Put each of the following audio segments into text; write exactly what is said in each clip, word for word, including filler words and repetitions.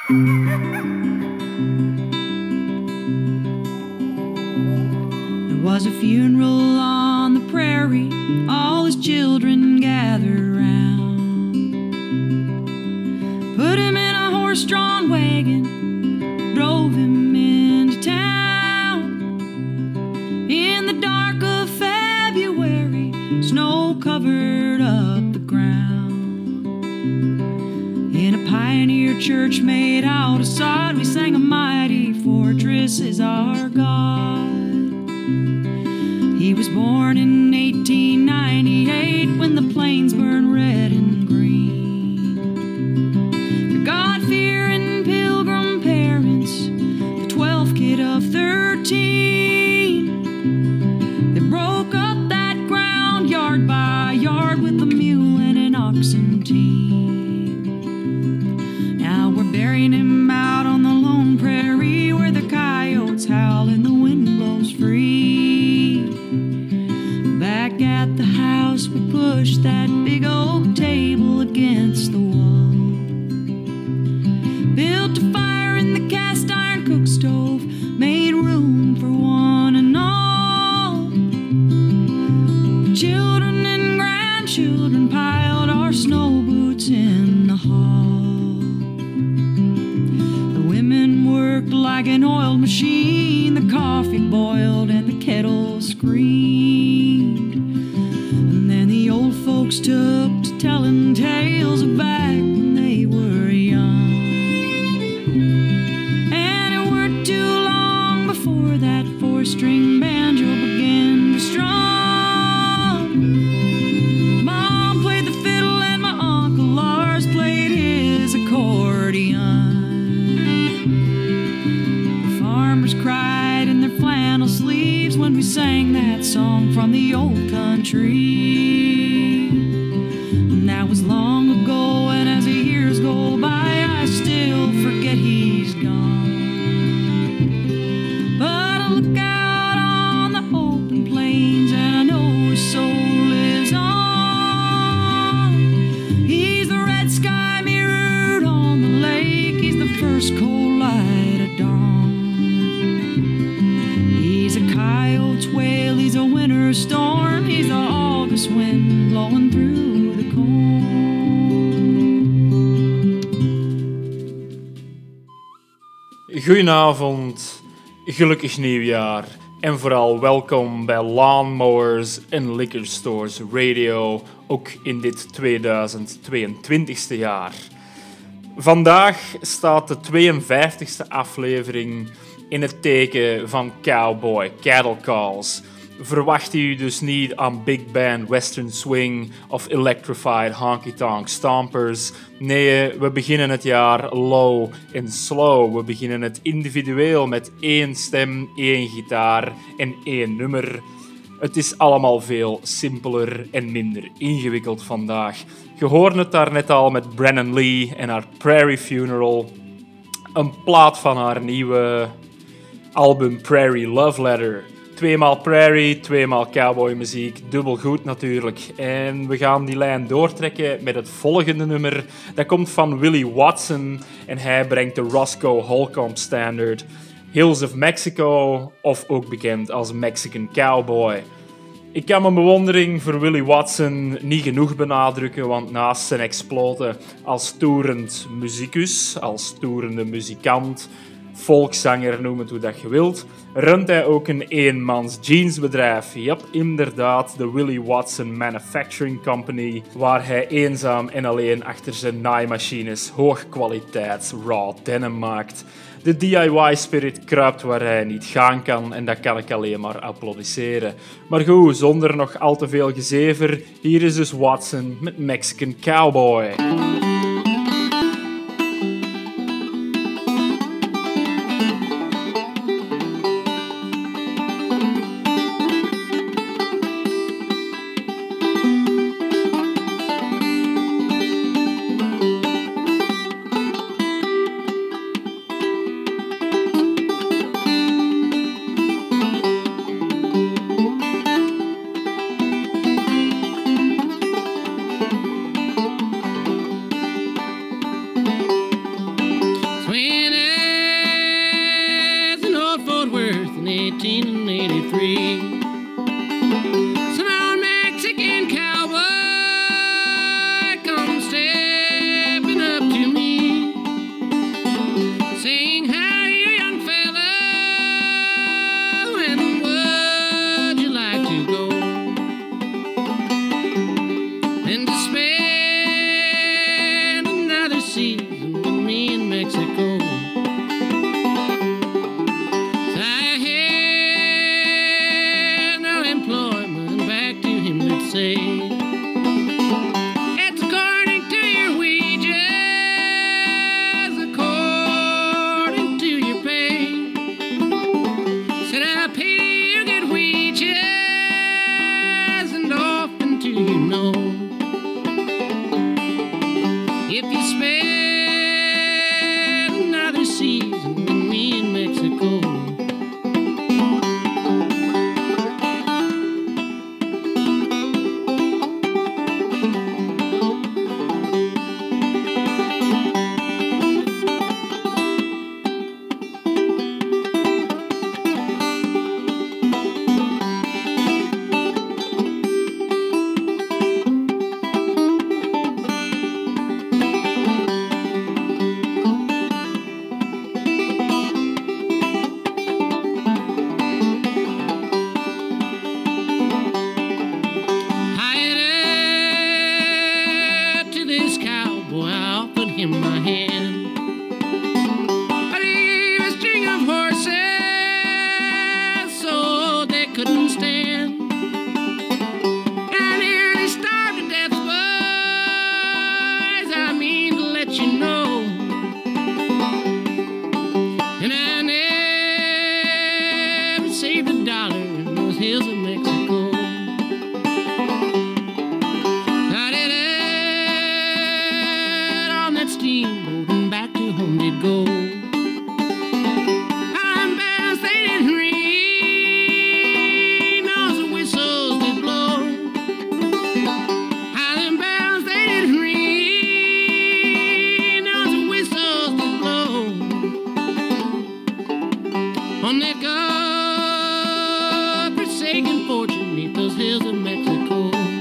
There was a funeral on the prairie, all his children gathered round. Put him in a horse-drawn wagon, drove him into town. In the dark of February, snow covered up the ground. In a pioneer church made out of sod, we sang a mighty fortress is our God. He was born in eighteen ninety-eight when the plains burned red and green. For God-fearing pilgrim parents, the twelfth kid of thirteen, they broke up that ground yard by yard with a mule and an oxen team. Now we're burying him out on the lone prairie where the coyotes howl and the wind blows free. Back at the house we pushed that big oak table against the wall. Built a fire in the cast iron cook stove, made room for one and all. The children and grandchildren piled our snow boots in the hall. The women worked like an oiled machine, the coffee boiled and the kettle screamed. And then the old folks took to telling tales of back when they were young. And it weren't too long before that four-string banjo began to strum. Mom played the fiddle and my Uncle Lars played his accordion. The farmers cried in their flannel sleeves when we sang that song from the old country. And that was long ago, and as the years go by, I still forget he's gone. But I look out on the open plains and I know his soul lives on. He's the red sky mirrored on the lake, he's the first cold light of dawn. He's a coyote's wail, he's a winter storm, he's the August wind blowing through the corn. Goedenavond, gelukkig nieuwjaar en vooral welkom bij Lawnmowers en Liquor Stores Radio, ook in dit tweeduizend tweeëntwintigste jaar. Vandaag staat de tweeënvijftigste aflevering in het teken van Cowboy Cattle Calls. Verwacht u dus niet aan big band western swing of electrified honky-tonk stompers. Nee, we beginnen het jaar low en slow. We beginnen het individueel met één stem, één gitaar en één nummer. Het is allemaal veel simpeler en minder ingewikkeld vandaag. Je hoorde het daar net al met Brennan Lee en haar Prairie Funeral. Een plaat van haar nieuwe album Prairie Love Letter. Tweemaal prairie, tweemaal cowboymuziek, dubbel goed natuurlijk. En we gaan die lijn doortrekken met het volgende nummer. Dat komt van Willie Watson en hij brengt de Roscoe Holcomb Standard. Hills of Mexico, of ook bekend als Mexican Cowboy. Ik kan mijn bewondering voor Willie Watson niet genoeg benadrukken, want naast zijn exploten als toerend muzikus, als toerende muzikant, volkszanger, noem het hoe dat je wilt, runt hij ook een eenmans jeansbedrijf. Yep, inderdaad, de Willie Watson Manufacturing Company, waar hij eenzaam en alleen achter zijn naaimachines hoogkwaliteits raw denim maakt. De D I Y-spirit kruipt waar hij niet gaan kan en dat kan ik alleen maar applaudisseren. Maar goed, zonder nog al te veel gezever, hier is dus Watson met Mexican Cowboy. season with me in Mexico. So I had no employment, back to him would say, it's according to your wages, according to your pay. Said I pay you good wages, and often do you know, if you spend another season with me in Mexico. In my hand, I need a string of horses so they couldn't stand. I nearly starved to death, boys, I mean to let you know. And I never saved a dollar in those hills of Mexico. Steamboat and back to home they'd go. Highland bells they didn't ring, nor the whistles did blow. Highland bells they didn't ring, nor the whistles did blow. On that God-forsaken fortune 'neath those hills of Mexico.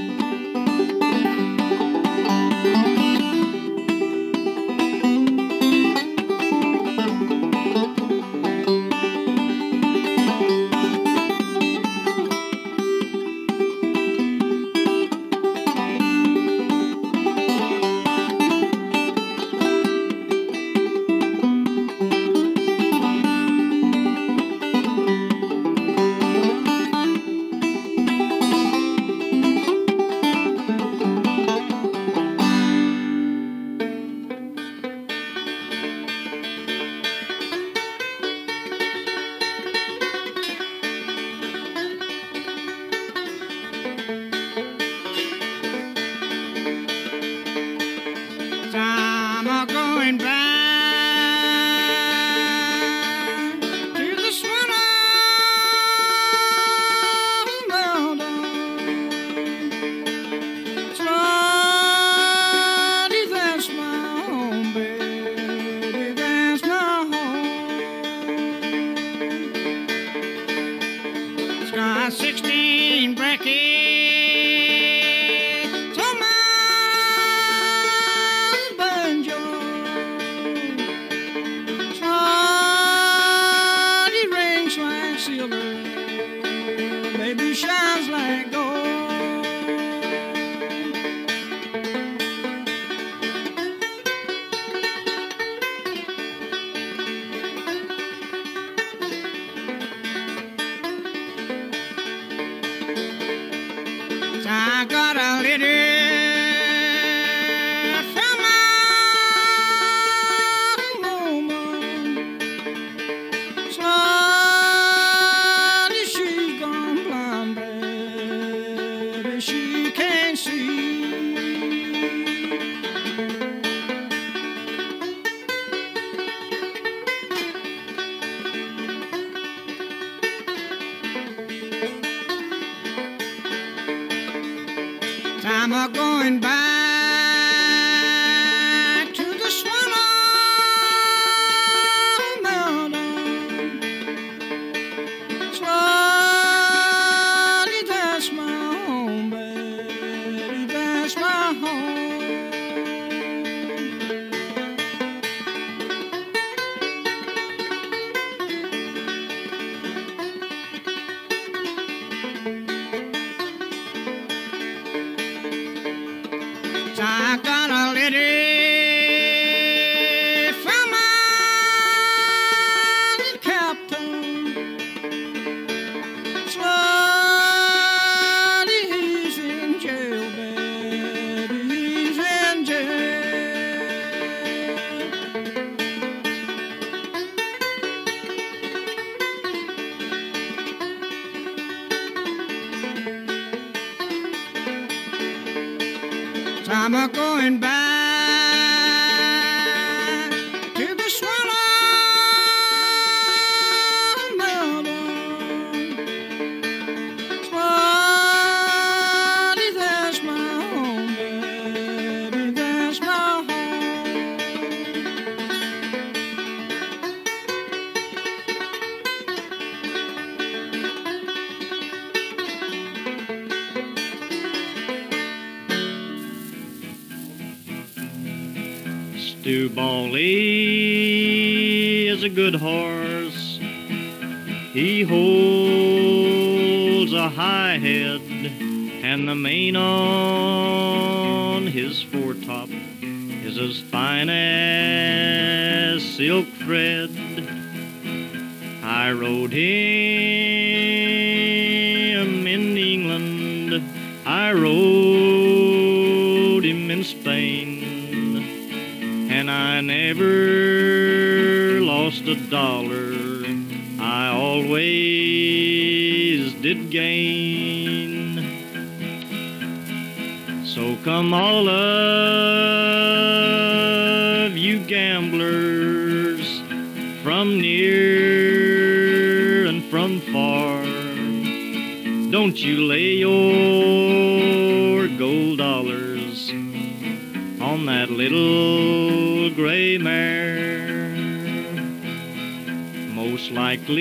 I'm a going back to the Swan Mountain. Slowly, that's my home, baby, that's my home. Sky sixteen brackets on my silver, baby shines like gold. I got a letter from my woman. Slowly she's gone blind, baby, she can't see. I'm a going back to the Swan Mountain. Slowly, that's my home, baby, that's my home. I got a letter I'm a going back to the swallow meadow. Swally, that's my home, baby, that's my home. Stu Bawley is a good horse. He holds a high head, and the mane on his foretop is as fine as silk thread. I rode him in England, I rode him in Spain, and I never lost a dollar, I always did gain. So come all of you gamblers from near and from far, don't you lay your gold dollars on that little gray mare. Most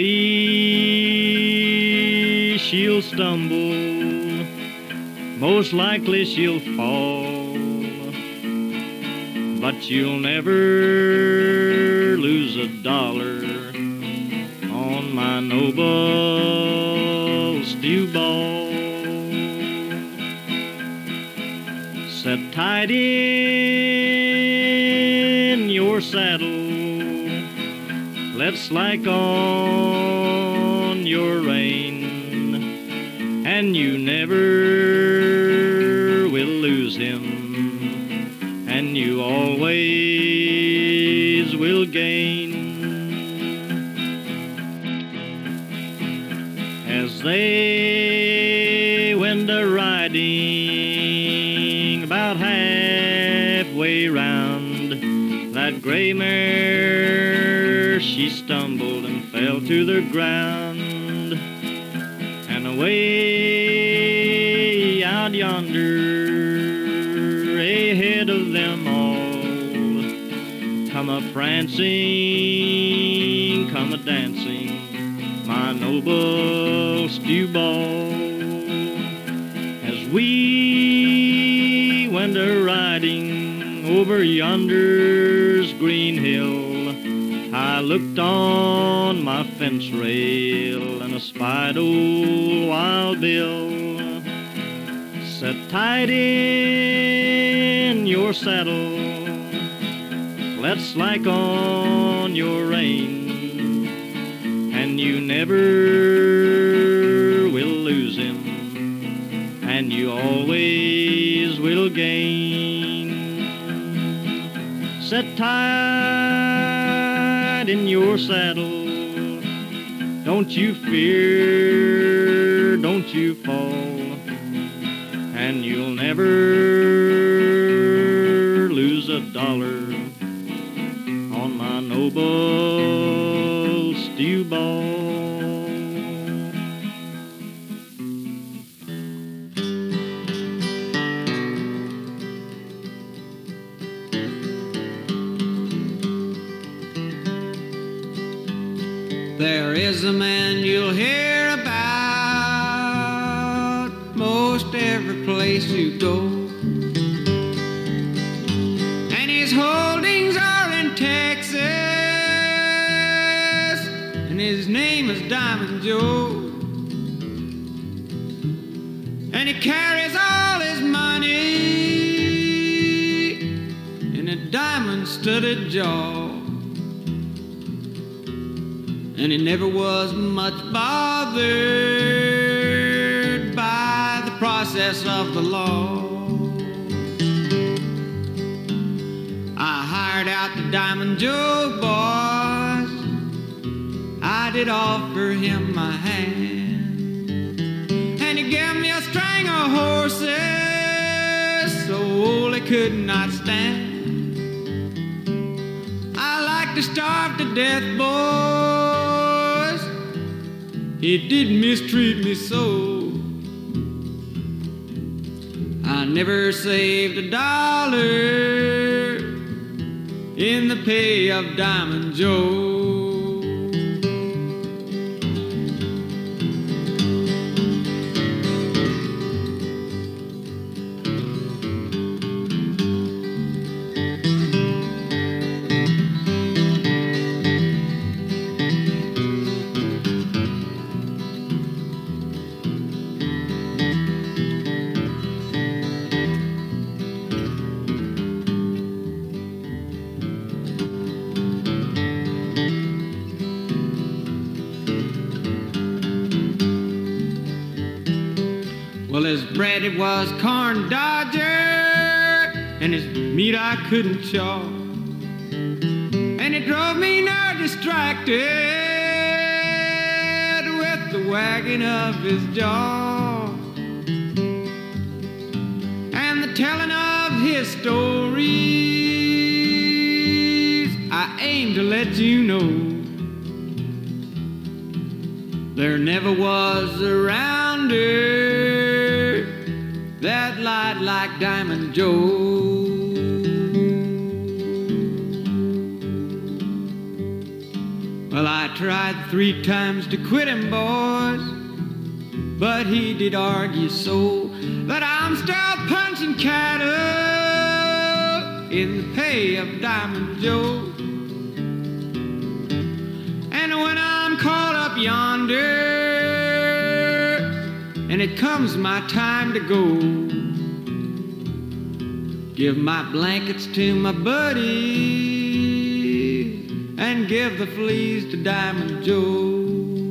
likely she'll stumble, most likely she'll fall, but you'll never lose a dollar on my noble Stu Ball. Set tight in your saddle, let's slack on your rein, and you never will lose him, and you always will gain. As they went a-riding about halfway round, that gray mare, she stumbled and fell to the ground. And away out yonder, ahead of them all, come a-prancing, come a-dancing, my noble Stu Ball. As we went a-riding over yonder's green hill, I looked on my fence rail and espied old Wild Bill. Set tight in your saddle, let's slack on your rein, and you never will lose him, and you always will gain. Set tight in your saddle, don't you fear, don't you fall, and you'll never lose a dollar on my noble Stu Ball. There is a man you'll hear about most every place you go, and his holdings are in Texas, and his name is Diamond Joe, and he carries all his money in a diamond-studded jaw. And he never was much bothered by the process of the law. I hired out the Diamond Joe boys, I did offer him my hand, and he gave me a string of horses so old they could not stand. I like to starve to death, boys. He did mistreat me so. I never saved a dollar in the pay of Diamond Joe. Well, his bread it was corn dodger, and his meat I couldn't chaw, and it drove me now distracted with the wagging of his jaw and the telling of his stories. I aim to let you know there never was a rounder that lied like Diamond Joe. Well, I tried three times to quit him, boys, but he did argue so that I'm still punching cattle in the pay of Diamond Joe. And when I'm caught up yonder and it comes my time to go, give my blankets to my buddy and give the fleas to Diamond Joe.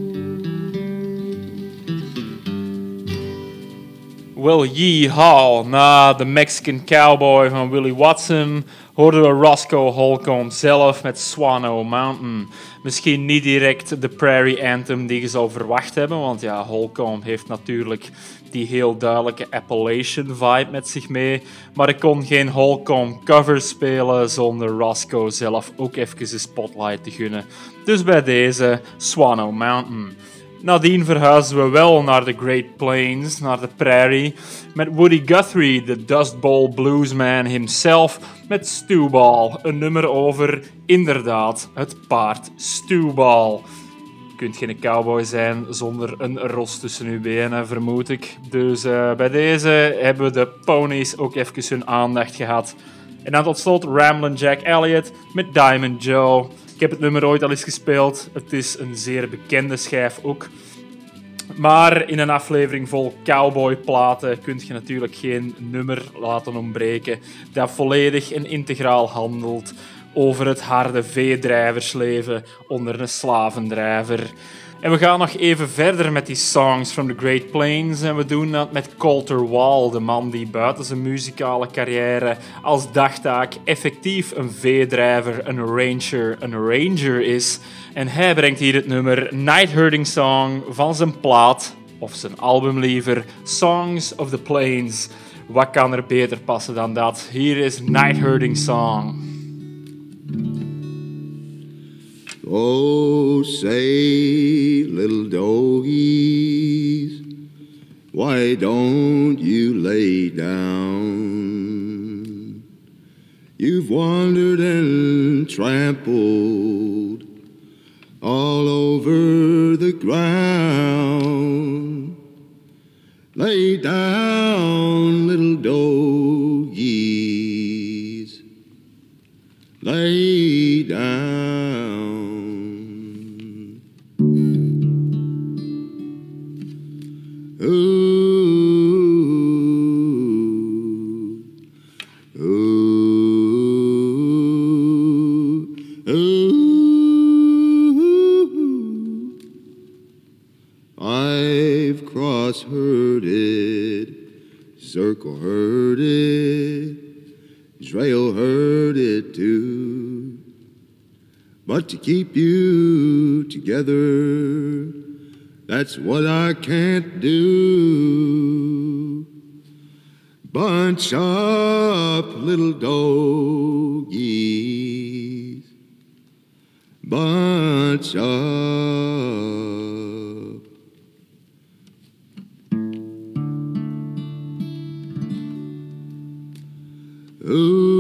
Well, yeehaw, na de Mexican Cowboy van Willie Watson hoorden we Roscoe Holcomb zelf met Swano Mountain. Misschien niet direct de Prairie Anthem die je zou verwacht hebben, want ja, Holcomb heeft natuurlijk die heel duidelijke Appalachian vibe met zich mee. Maar ik kon geen Holcomb cover spelen zonder Roscoe zelf ook even de spotlight te gunnen. Dus bij deze Swano Mountain. Nadien verhuisden we wel naar de Great Plains, naar de Prairie, met Woody Guthrie, de Dust Bowl bluesman himself, met Stewball, een nummer over, inderdaad, het paard Stewball. Je kunt geen cowboy zijn zonder een ros tussen uw benen, vermoed ik. Dus uh, bij deze hebben we de ponies ook even hun aandacht gehad. En dan tot slot Ramblin' Jack Elliott met Diamond Joe. Ik heb het nummer ooit al eens gespeeld. Het is een zeer bekende schijf ook. Maar in een aflevering vol cowboyplaten kun je natuurlijk geen nummer laten ontbreken dat volledig en integraal handelt over het harde veedrijversleven onder een slavendrijver. En we gaan nog even verder met die songs from the Great Plains. En we doen dat met Colter Wall, de man die buiten zijn muzikale carrière als dagtaak effectief een veedrijver, een rancher, een ranger is. En hij brengt hier het nummer Night Herding Song van zijn plaat, of zijn album liever, Songs of the Plains. Wat kan er beter passen dan dat? Hier is Night Herding Song. Oh, say, little doggies, why don't you lay down? You've wandered and trampled all over the ground. Lay down, little doggies, lay down. Ooh, ooh, ooh. I've cross-herded, circle-herded, trail-herded too. But to keep you together, that's what I can't do. bunch up little doggies, bunch up. Ooh,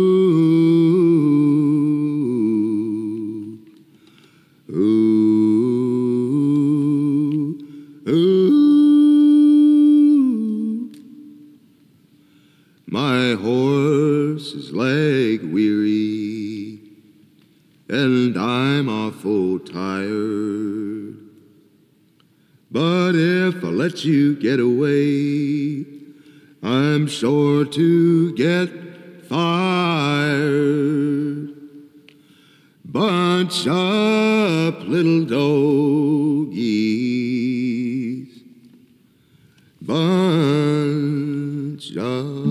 ooh, ooh. My horse is leg weary, and I'm awful tired. But if I let you get away, I'm sure to get fired. Bunch up little doggies, bunch up.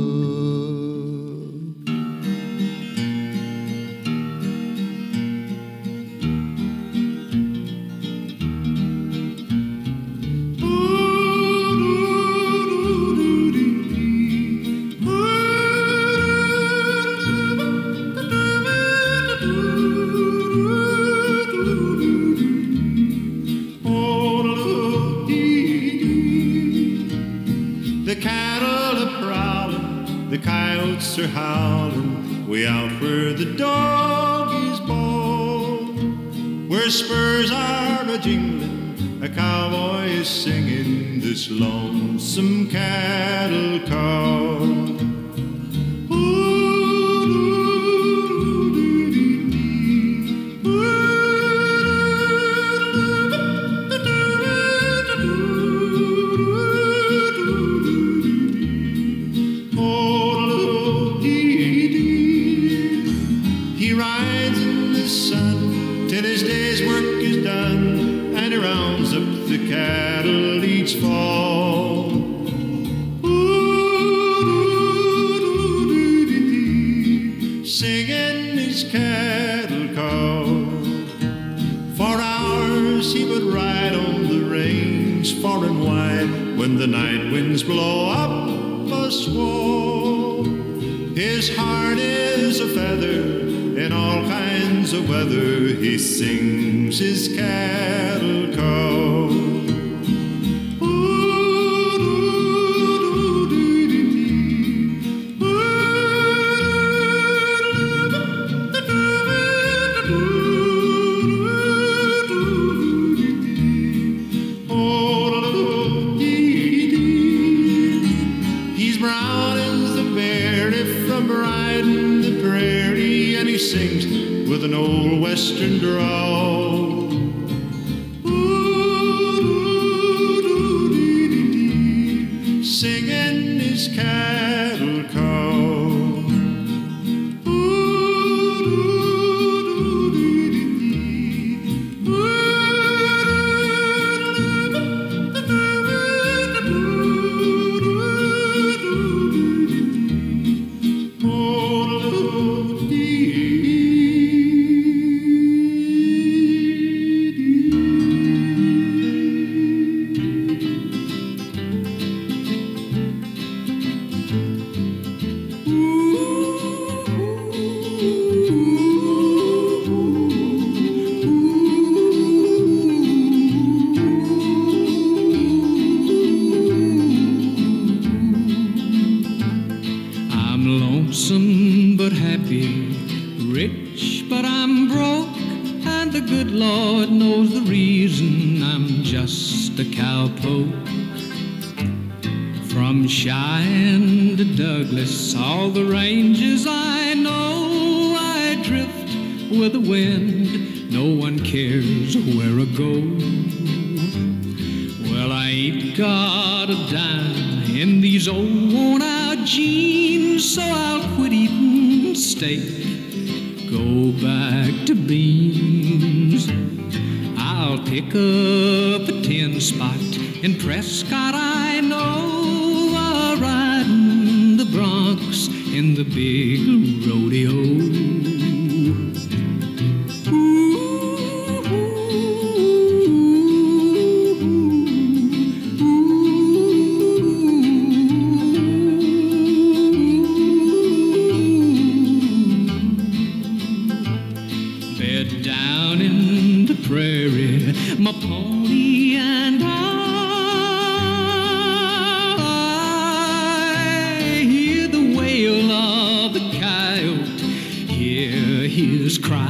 The coyotes are howling way out where the doggies bawl, where spurs are a-jingling, a cowboy is singing this lonesome cattle call. Cattle each fall. Singing his cattle call. For hours he would ride on the range far and wide when the night winds blow up a squall. His heart is a feather in all kinds of weather. He sings his cattle call. With an old western drawl. Singing his cattle call. Lonesome but happy, rich but I'm broke, and the good Lord knows the reason. I'm just a cowpoke. From Cheyenne to Douglas, all the ranges I know, I drift with the wind, no one cares where I go. Well, I ain't got a dime in these old worn-out jeans, so I'll quit eating steak, go back to beans. I'll pick up a tin spot in Prescott, I know, I'll ride in the Bronx in the big rodeo. my pony and I hear the wail of the coyote, hear his cry.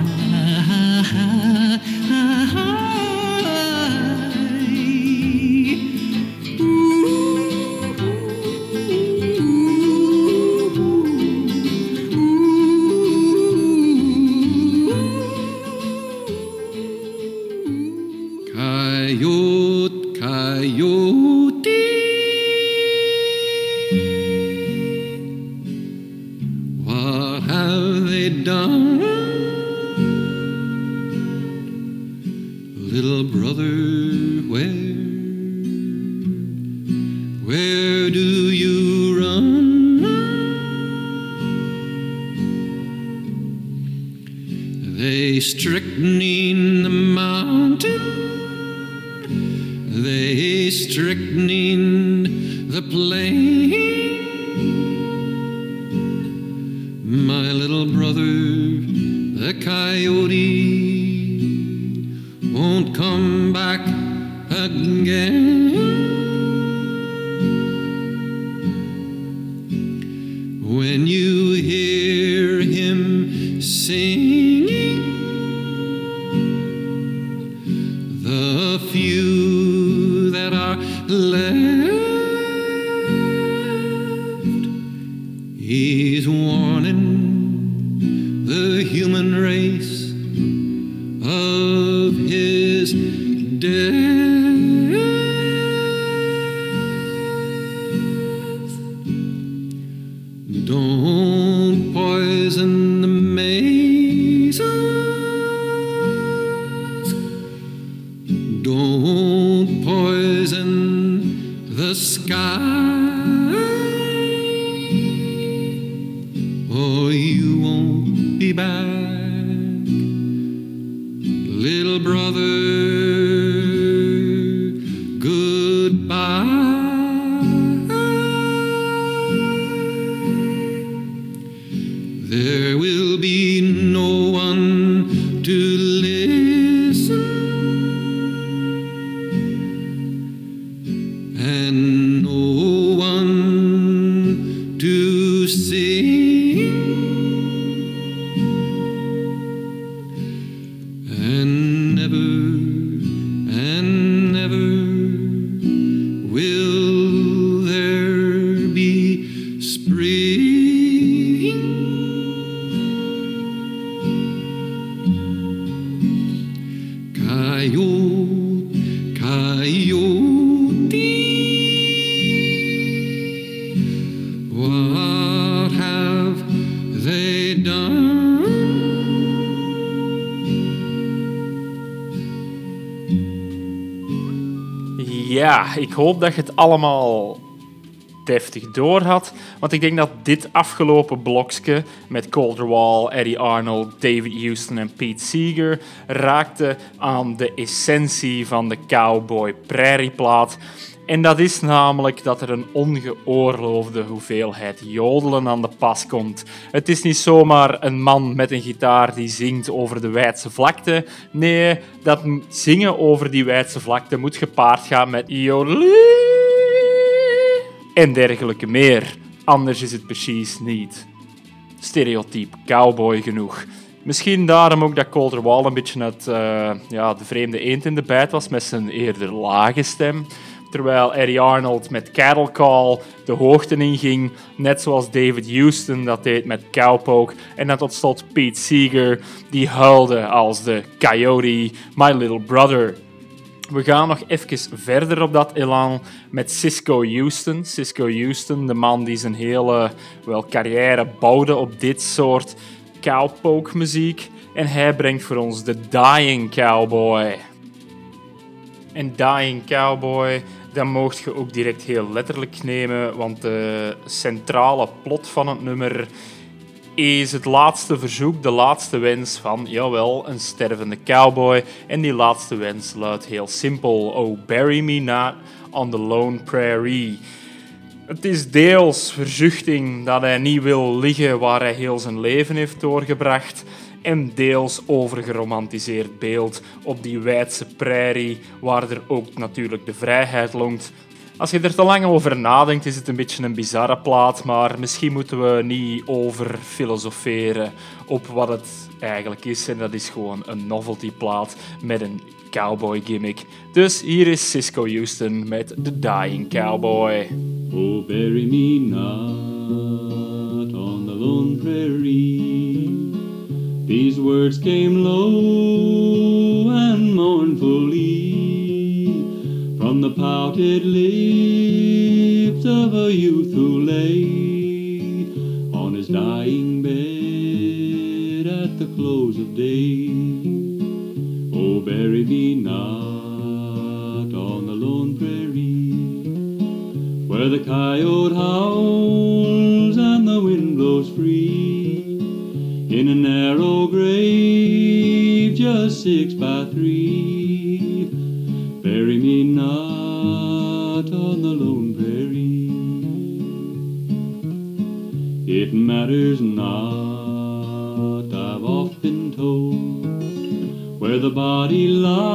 Coyote, coyote, what have they done? Little brother, where, where do you run? They strychnine the mountain, they strychnine the plain. My little brother, the coyote, won't come back again. When you hear him singing, the few that are left, he's warning the human race of his death. Don't poison the mazes, don't poison the sky, or you won't be back, little brother. Goodbye. There will be no one to listen, and no one to sing, and never and never will there be spring. Coyote, coyote, what have they done? Ja, ik hoop dat je het allemaal deftig door had, want ik denk dat dit afgelopen blokje met Colter Wall, Eddie Arnold, David Houston en Pete Seeger raakte aan de essentie van de cowboy prairieplaat. En dat is namelijk dat er een ongeoorloofde hoeveelheid jodelen aan de pas komt. Het is niet zomaar een man met een gitaar die zingt over de wijdse vlakte. Nee, dat zingen over die wijdse vlakte moet gepaard gaan met jodelie en dergelijke meer. Anders is het precies niet stereotyp cowboy genoeg. Misschien daarom ook dat Colter Wall een beetje het, uh, ja, de vreemde eend in de bijt was met zijn eerder lage stem. Terwijl Eddie Arnold met Cattle Call de hoogte inging, net zoals David Houston dat deed met Cowpoke. En dan tot slot Pete Seeger, die huilde als de Coyote, My Little Brother. We gaan nog even verder op dat elan met Cisco Houston. Cisco Houston, de man die zijn hele wel, carrière bouwde op dit soort cowpoke muziek. En hij brengt voor ons de Dying Cowboy. En Dying Cowboy, dat mocht je ook direct heel letterlijk nemen, want de centrale plot van het nummer is het laatste verzoek, de laatste wens van, jawel, een stervende cowboy. En die laatste wens luidt heel simpel: Oh, bury me not on the lone prairie. Het is deels verzuchting dat hij niet wil liggen waar hij heel zijn leven heeft doorgebracht. en deels overgeromantiseerd beeld op die wijdse prairie waar er ook natuurlijk de vrijheid longt. Als je er te lang over nadenkt, is het een beetje een bizarre plaat, maar misschien moeten we niet over filosoferen op wat het eigenlijk is. En dat is gewoon een novelty plaat met een cowboy gimmick. Dus hier is Cisco Houston met The Dying Cowboy. Oh, bury me not on the lone prairie. These words came low and mournfully from the pouted lips of a youth who lay on his dying bed at the close of day. Oh, bury me not on the lone prairie, where the coyote howls and the wind blows free, in a narrow grave just six by three. Bury me not on the lone prairie. It matters not, I've oft been told, where the body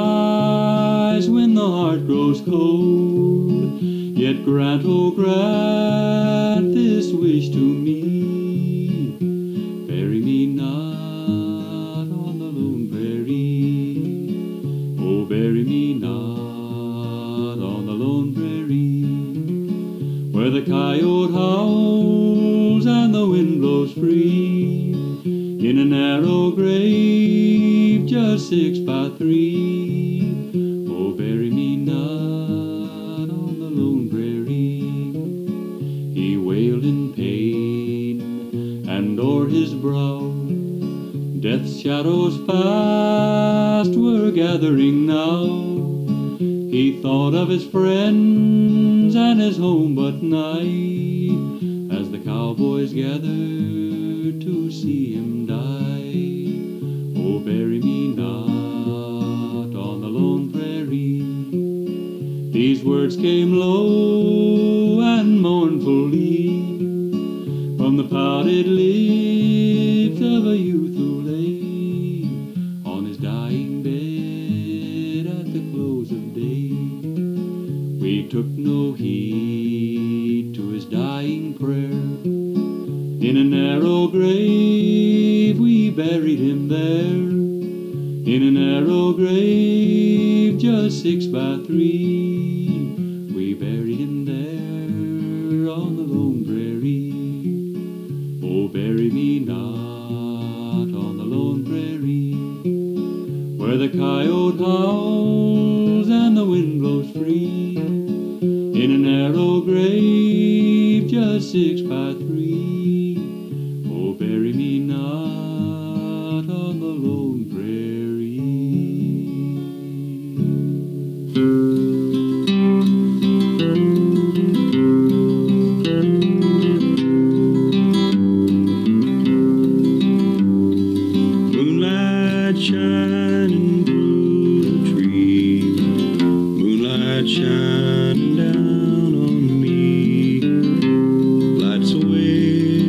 lies when the heart grows cold. Yet grant, oh grant this wish to me, bury me not on the lone prairie. Oh, bury me not on the lone prairie, where the coyote howls and the wind blows free, in a narrow grave just six by three. Oh, bury me not on the lone prairie. He wailed in pain, and o'er his brow death's shadows fast were gathering now. He thought of his friends and his home but night, as the cowboys gathered to see him die. Oh, bury me not on the lone prairie. These words came low and mournfully from the pouted lips of a youth who lay on his dying bed at the close of day. We took no heed to his dying prayer. In a narrow grave we buried him there, in a narrow grave just six by three. We buried him there on the lone prairie. Oh, bury me not on the lone prairie, where the coyote howls and the wind blows free, in a narrow grave just six by three. Oh, bury me not on the lone prairie. Moonlight shining through the trees, moonlight shining down on me, lights away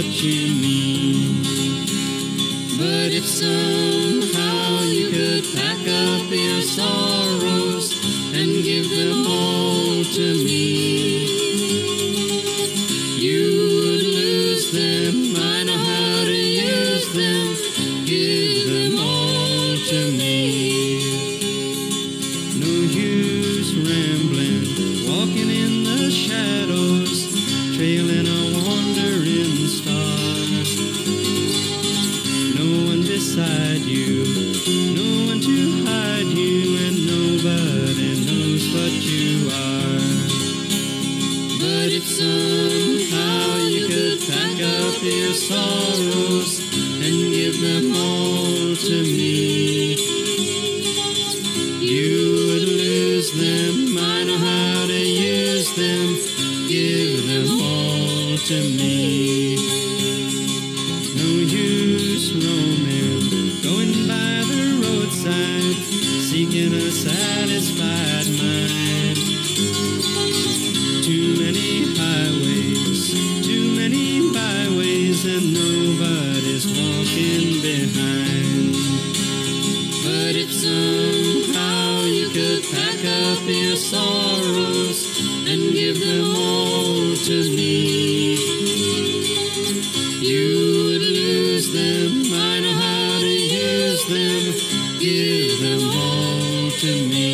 what you mean. But if somehow you could pack up your sorrows and give them all to me, you would lose them. I know how to use them. Give them all to me. No use rambling, walking in the shadows, trailing a wandering star. No one beside you, no one to hide you, and nobody knows what you are. But if somehow you could pack up your sorrows and give them all to me, you would lose them. I know how to use them. Give them all to me. No use roaming, going by the roadside, seeking a satisfied mind. Too many highways, too many byways, and nobody's walking behind. But if somehow you could pack up your sorrows and give them all to me, you would lose them. I know how to use them. Give them all to me.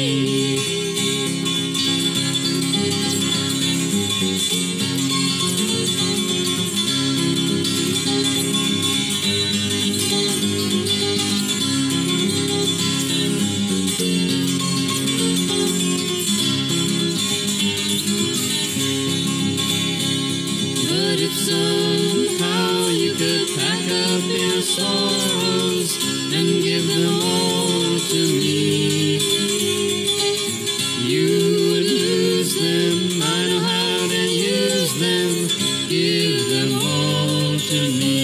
But if somehow you could pack up your sorrows and give them all to me, you would lose them. I know how to use them. Give them all to me.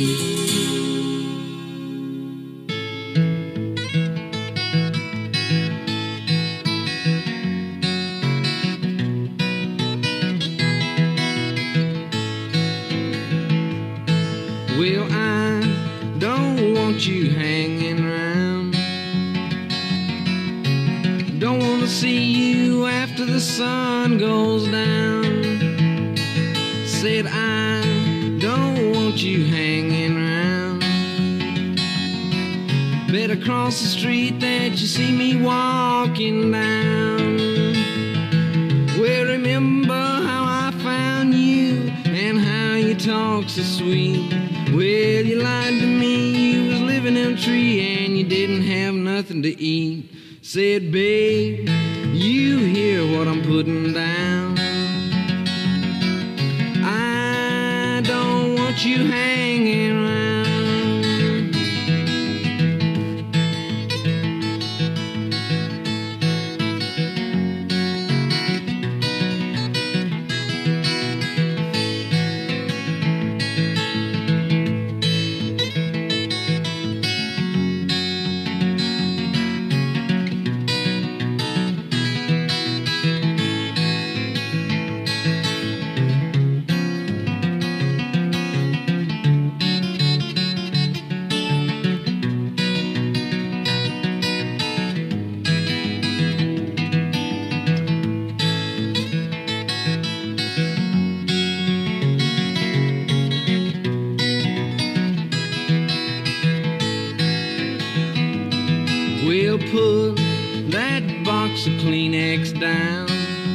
Well, I don't want you hanging around. Don't want to see you after the sun goes down. Said I don't want you hanging around. Better cross the street that you see me walking down. Well, remember how I found you and how you talk so sweet. Well, you lied to me, you was living in a tree and you didn't have nothing to eat. Said, babe, you hear what I'm putting down. I don't want you hanging around. We'll put that box of Kleenex down.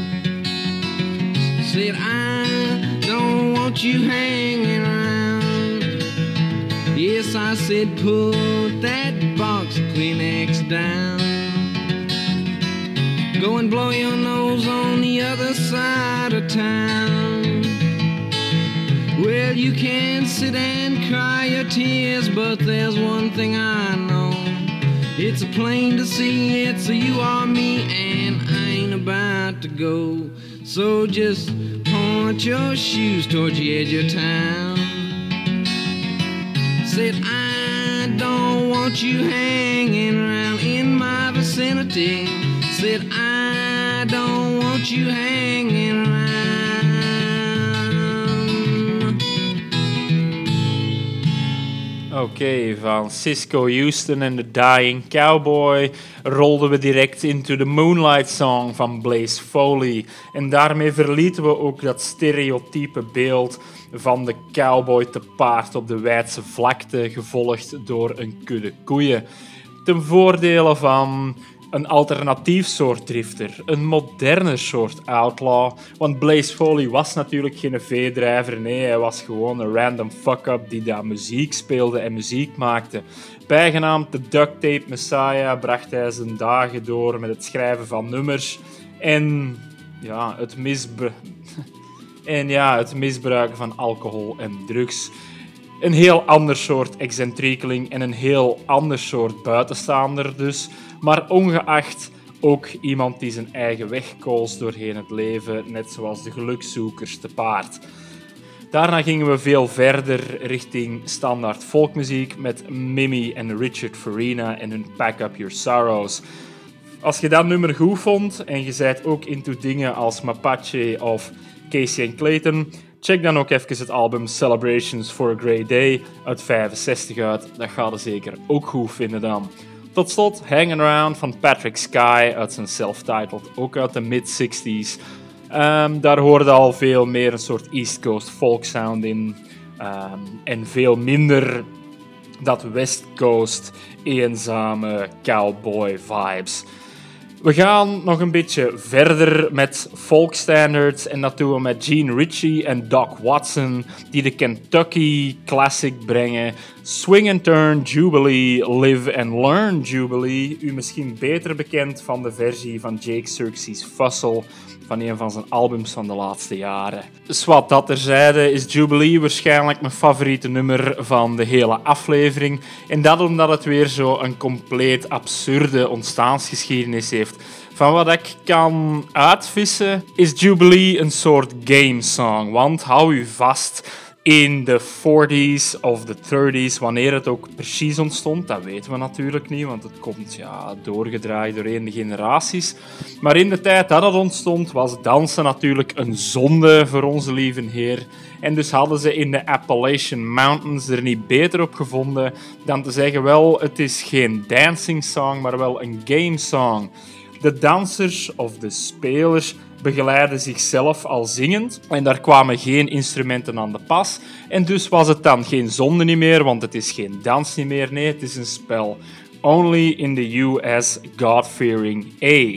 Said I don't want you hanging around. Yes, I said put that box of Kleenex down. Go and blow your nose on the other side of town. Well, you can sit and cry your tears, but there's one thing I know. It's plain to see it's a you or me, and I ain't about to go. So just point your shoes towards the edge of town. Said I don't want you hanging around in my vicinity. Said I don't want you hanging around. Oké, okay, van Cisco Houston en The Dying Cowboy rolden we direct into the Moonlight Song van Blaze Foley. En daarmee verlieten we ook dat stereotype beeld van de cowboy te paard op de wijdse vlakte, gevolgd door een kudde koeien. Ten voordele van een alternatief soort drifter, een moderner soort outlaw, want Blaze Foley was natuurlijk geen veedrijver, nee, hij was gewoon een random fuck-up die daar muziek speelde en muziek maakte. Bijgenaamd de Duct Tape Messiah bracht hij zijn dagen door met het schrijven van nummers en ja, het, misbru- en ja, het misbruiken van alcohol en drugs. Een heel ander soort excentriekeling en een heel ander soort buitenstaander dus. Maar ongeacht ook iemand die zijn eigen weg koos doorheen het leven, net zoals de gelukzoekers te paard. Daarna gingen we veel verder richting standaard folkmuziek met Mimi en Richard Farina en hun Pack Up Your Sorrows. Als je dat nummer goed vond en je zijt ook into dingen als Mapache of Casey and Clayton, check dan ook even het album Celebrations for a Grey Day uit vijfenzestig uit. Dat ga je zeker ook goed vinden dan. Tot slot Hangin' Around van Patrick Sky uit zijn self-titled, ook uit de mid-zestig's. Um, daar hoorde al veel meer een soort East Coast folk sound in. Um, en veel minder dat West Coast eenzame cowboy vibes. We gaan nog een beetje verder met folk standards en dat doen we met Gene Ritchie en Doc Watson die de Kentucky Classic brengen. Swing and Turn Jubilee, Live and Learn Jubilee. U misschien beter bekend van de versie van Jake Xerxes Fussell van een van zijn albums van de laatste jaren. Dus wat dat terzijde is Jubilee waarschijnlijk mijn favoriete nummer van de hele aflevering. En dat omdat het weer zo een compleet absurde ontstaansgeschiedenis heeft. Van wat ik kan uitvissen is Jubilee een soort game song. Want hou u vast, in de forties of de thirties, wanneer het ook precies ontstond, dat weten we natuurlijk niet, want het komt ja, doorgedraaid doorheen de generaties. Maar in de tijd dat het ontstond, was dansen natuurlijk een zonde voor onze lieve Heer. En dus hadden ze in de Appalachian Mountains er niet beter op gevonden dan te zeggen, wel, het is geen dancing song, maar wel een game song. De dansers of de spelers begeleiden zichzelf al zingend en daar kwamen geen instrumenten aan de pas. En dus was het dan geen zonde niet meer, want het is geen dans niet meer. Nee, het is een spel. Only in the U S God-fearing A.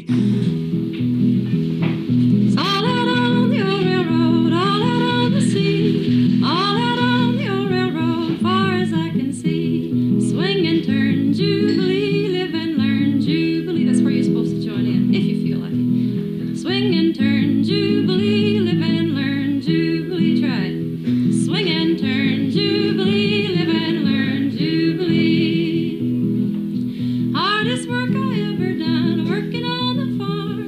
Hardest work I ever done, working on the farm.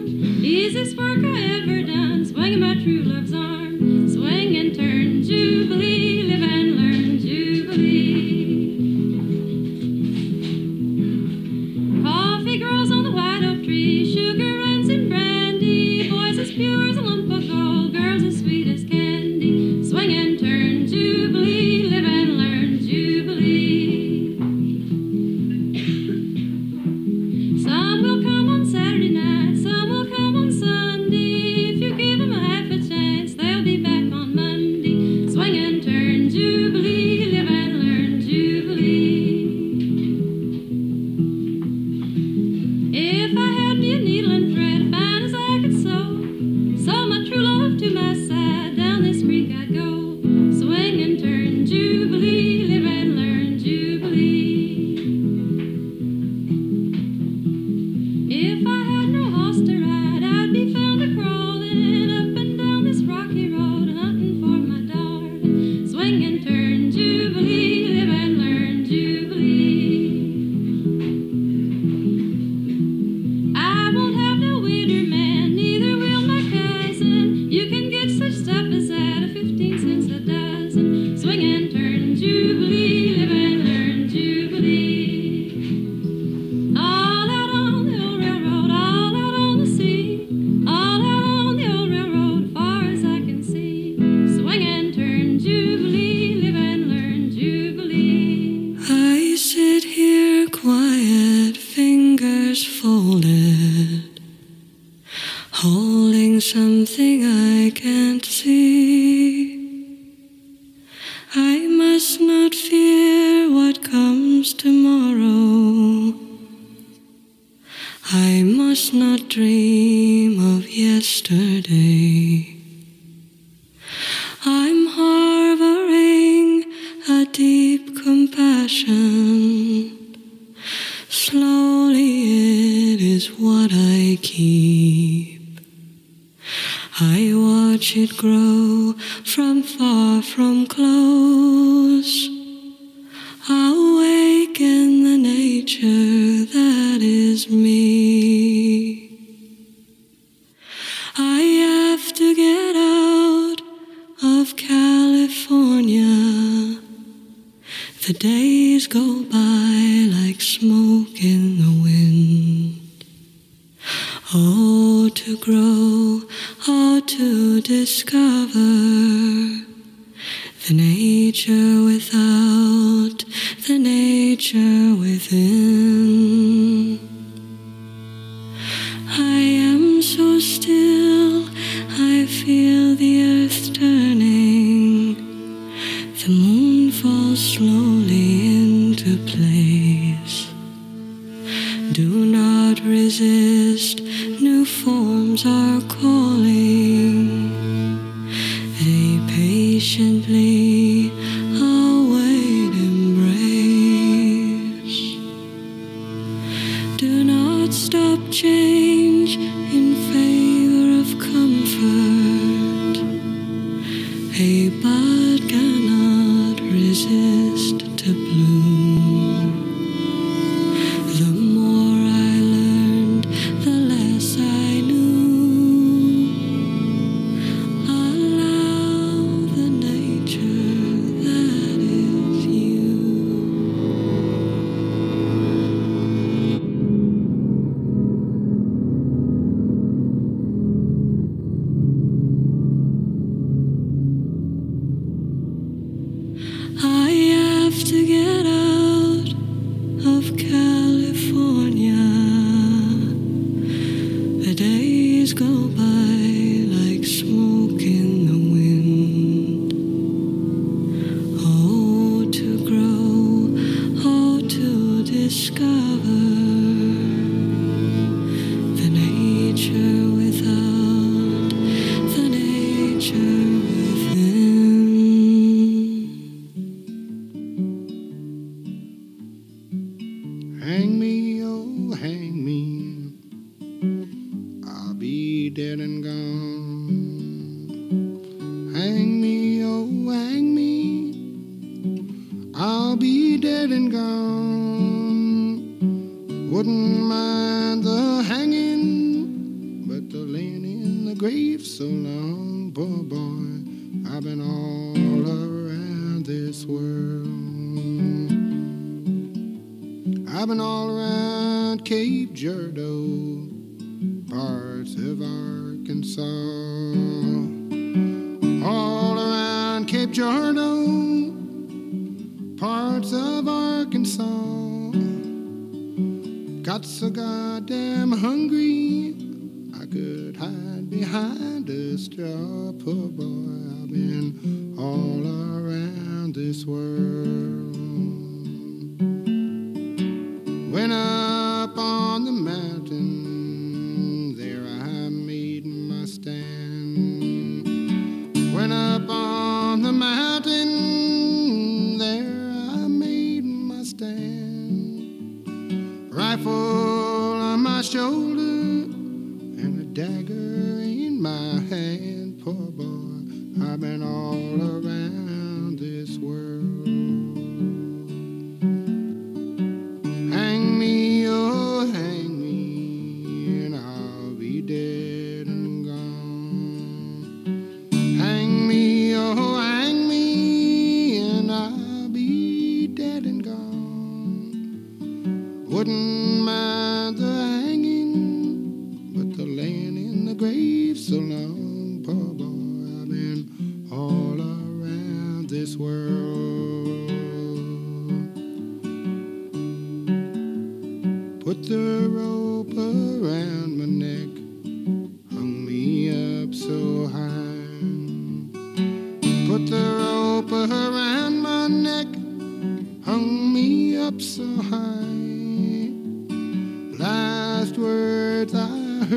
cannot dream of yesterday. I'm harboring a deep compassion. Slowly it is what I keep. I watch it grow from far, from close. Awaken the nature that is me. I have to get out of California. The days go by like smoke in the wind. Oh, to grow, oh, to discover the nature without, the nature within. I am so still, I feel the earth turning. The moon falls slowly into place. Do not resist, new forms are calling. They patiently await embrace. Do not stop change in favor of comfort. A bud cannot resist to bloom. The more I learned, the less I knew. Allow the nature that is you. I have to get out of California. The days go by like smoke in the wind. Oh, to grow, oh, to discover the nature without, the nature within. Hang me, oh, hang me. I'll be dead and gone. Hang me, oh, hang me. I'll be dead and gone. Wouldn't mind the hanging, but the laying in the grave so long, poor boy. I've been all around this world. I've been all around Cape Girardeau, parts of Arkansas. All around Cape Girardeau, parts of Arkansas. Got so goddamn hungry, I could hide behind a straw. Poor boy, I've been all around this world. Went up on the mountain, there I made my stand. Went up on the mountain, there I made my stand. Rifle on my shoulder and a dagger in my hand. Poor boy, I've been all around this world. Hang me, oh, hang me, and I'll be dead and gone. Hang me, oh, hang me, and I'll be dead and gone. Wouldn't mind the hanging, but the laying in the grave so long. Poor boy, I've been all around this world. Put the rope around my neck, hung me up so high. Put the rope around my neck, hung me up so high. Last words I heard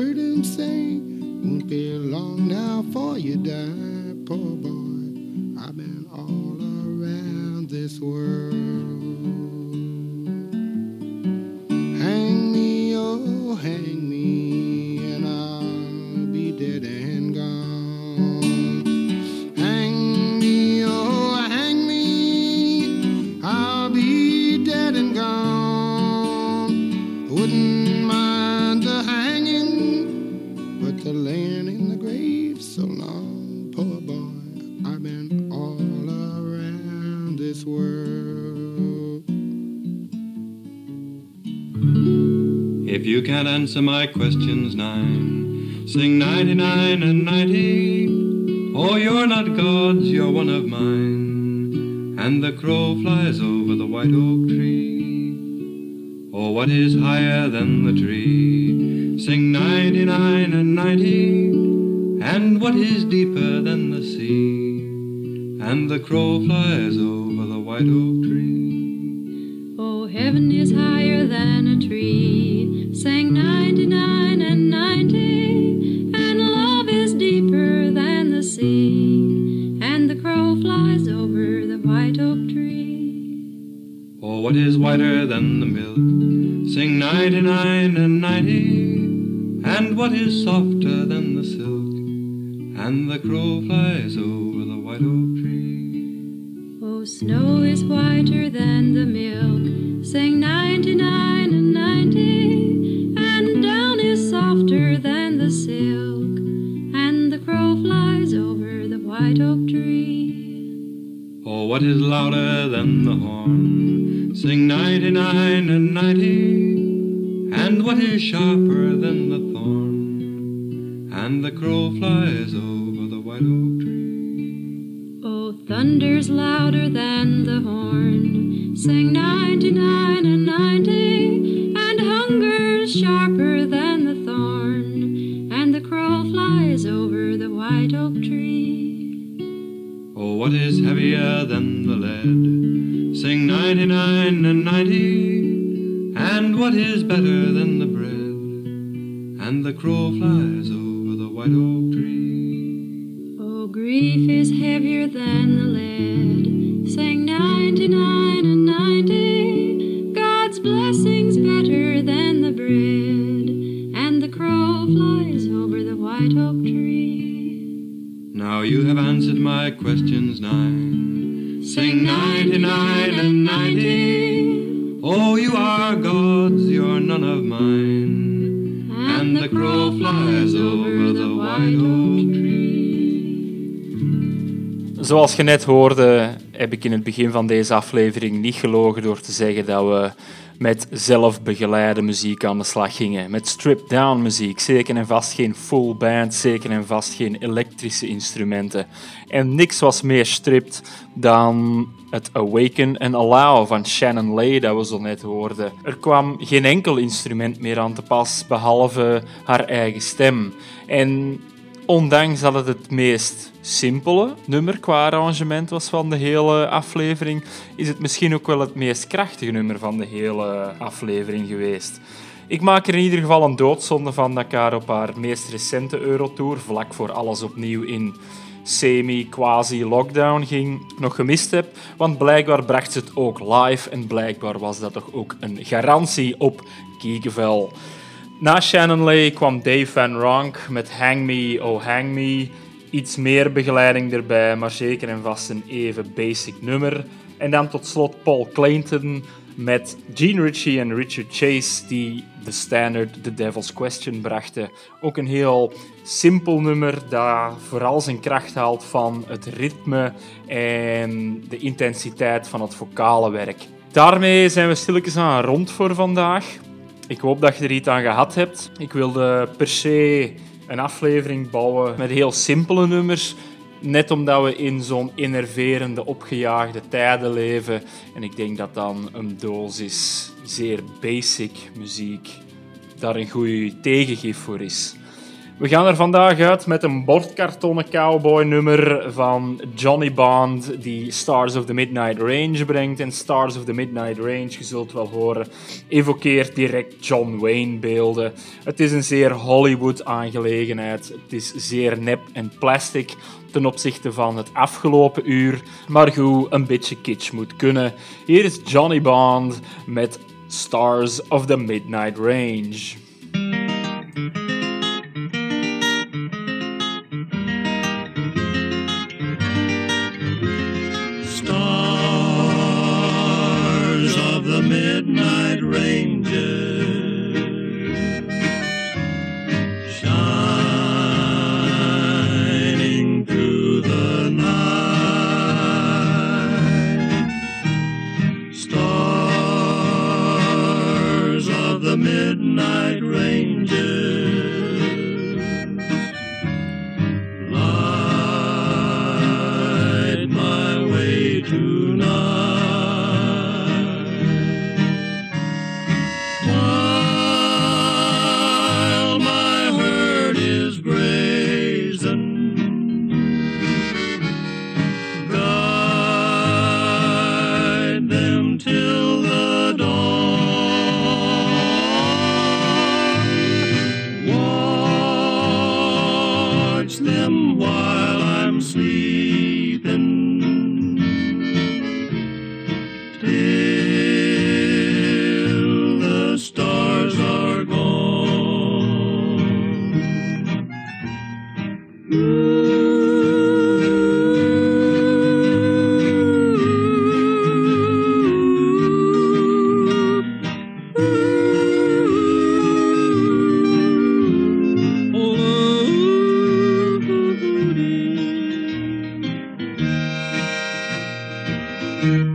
If you can't answer my questions nine, sing ninety-nine and ninety. Oh, you're not God's, you're one of mine. And the crow flies over the white oak tree. Oh, what is higher than the tree? Sing ninety-nine and ninety. And what is deeper than the sea? And the crow flies over the white oak tree. Oh, heaven is higher than a tree. Sang ninety-nine and ninety. And love is deeper than the sea. And the crow flies over the white oak tree. Oh, what is whiter than the milk? Sing ninety-nine and ninety. And what is softer than the silk? And the crow flies over the white oak tree. Oh, snow is whiter than the milk. Sang ninety-nine and ninety. And down is softer than the silk. And the crow flies over the white oak tree. Oh, what is louder than the horn? Sing ninety-nine and ninety. And what is sharper than the thorn? And the crow flies over the white oak tree. Oh, thunder's louder than the horn. Sang ninety-nine and ninety. And hunger's sharper than the thorn. And the crow flies over the white oak tree. Oh, what is heavier than the lead? Sing ninety-nine and ninety. And what is better than the bread? And the crow flies over the white oak tree. Oh, grief is heavier than the lead. Sang ninety-nine and ninety. God's blessings better than the bread. And the crow flies over the white oak tree. Now you have answered my questions nine. Sing ninety-nine and ninety. Oh, you are God's, you're none of mine. And the crow flies over the white oak tree. Zoals je net hoorde, heb ik in het begin van deze aflevering niet gelogen door te zeggen dat we met zelfbegeleide muziek aan de slag gingen. Met stripped-down muziek, zeker en vast geen full band, zeker en vast geen elektrische instrumenten. En niks was meer stripped dan het Awaken and Allow van Shannon Lay dat we zo net hoorden. Er kwam geen enkel instrument meer aan te pas, behalve haar eigen stem. En ondanks dat het het meest simpele nummer qua arrangement was van de hele aflevering, is het misschien ook wel het meest krachtige nummer van de hele aflevering geweest. Ik maak er in ieder geval een doodzonde van dat ik haar op haar meest recente Eurotour, vlak voor alles opnieuw in semi-quasi-lockdown ging, nog gemist heb, want blijkbaar bracht ze het ook live en blijkbaar was dat toch ook een garantie op kiekenvel. Na Shannon Lay kwam Dave Van Ronk met Hang Me, Oh Hang Me. Iets meer begeleiding erbij, maar zeker en vast een even basic nummer. En dan tot slot Paul Clayton met Gene Ritchie en Richard Chase die de standard The Devil's Question brachten. Ook een heel simpel nummer dat vooral zijn kracht haalt van het ritme en de intensiteit van het vocale werk. Daarmee zijn we stilletjes aan rond voor vandaag. Ik hoop dat je er iets aan gehad hebt. Ik wilde per se een aflevering bouwen met heel simpele nummers. Net omdat we in zo'n enerverende, opgejaagde tijden leven. En ik denk dat dan een dosis zeer basic muziek daar een goed tegengif voor is. We gaan er vandaag uit met een bordkartonnen cowboy nummer van Johnny Bond die Stars of the Midnight Range brengt. En Stars of the Midnight Range, je zult wel horen, evokeert direct John Wayne beelden. Het is een zeer Hollywood aangelegenheid. Het is zeer nep en plastic ten opzichte van het afgelopen uur. Maar goed, een beetje kitsch moet kunnen. Hier is Johnny Bond met Stars of the Midnight Range. The midnight ranges shining through the night, stars of the midnight Thank you.